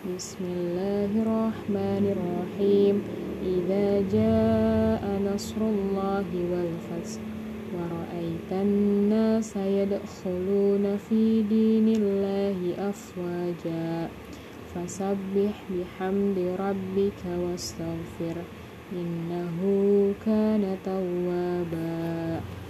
Bismillahirrahmanirrahim. Idza jaa nasrullahi wal fath wa ra'aitan nasa yadkhuluna fi dinillahi afwaja fasabbih bihamdi rabbika wastaghfir innahu kana tawwaba.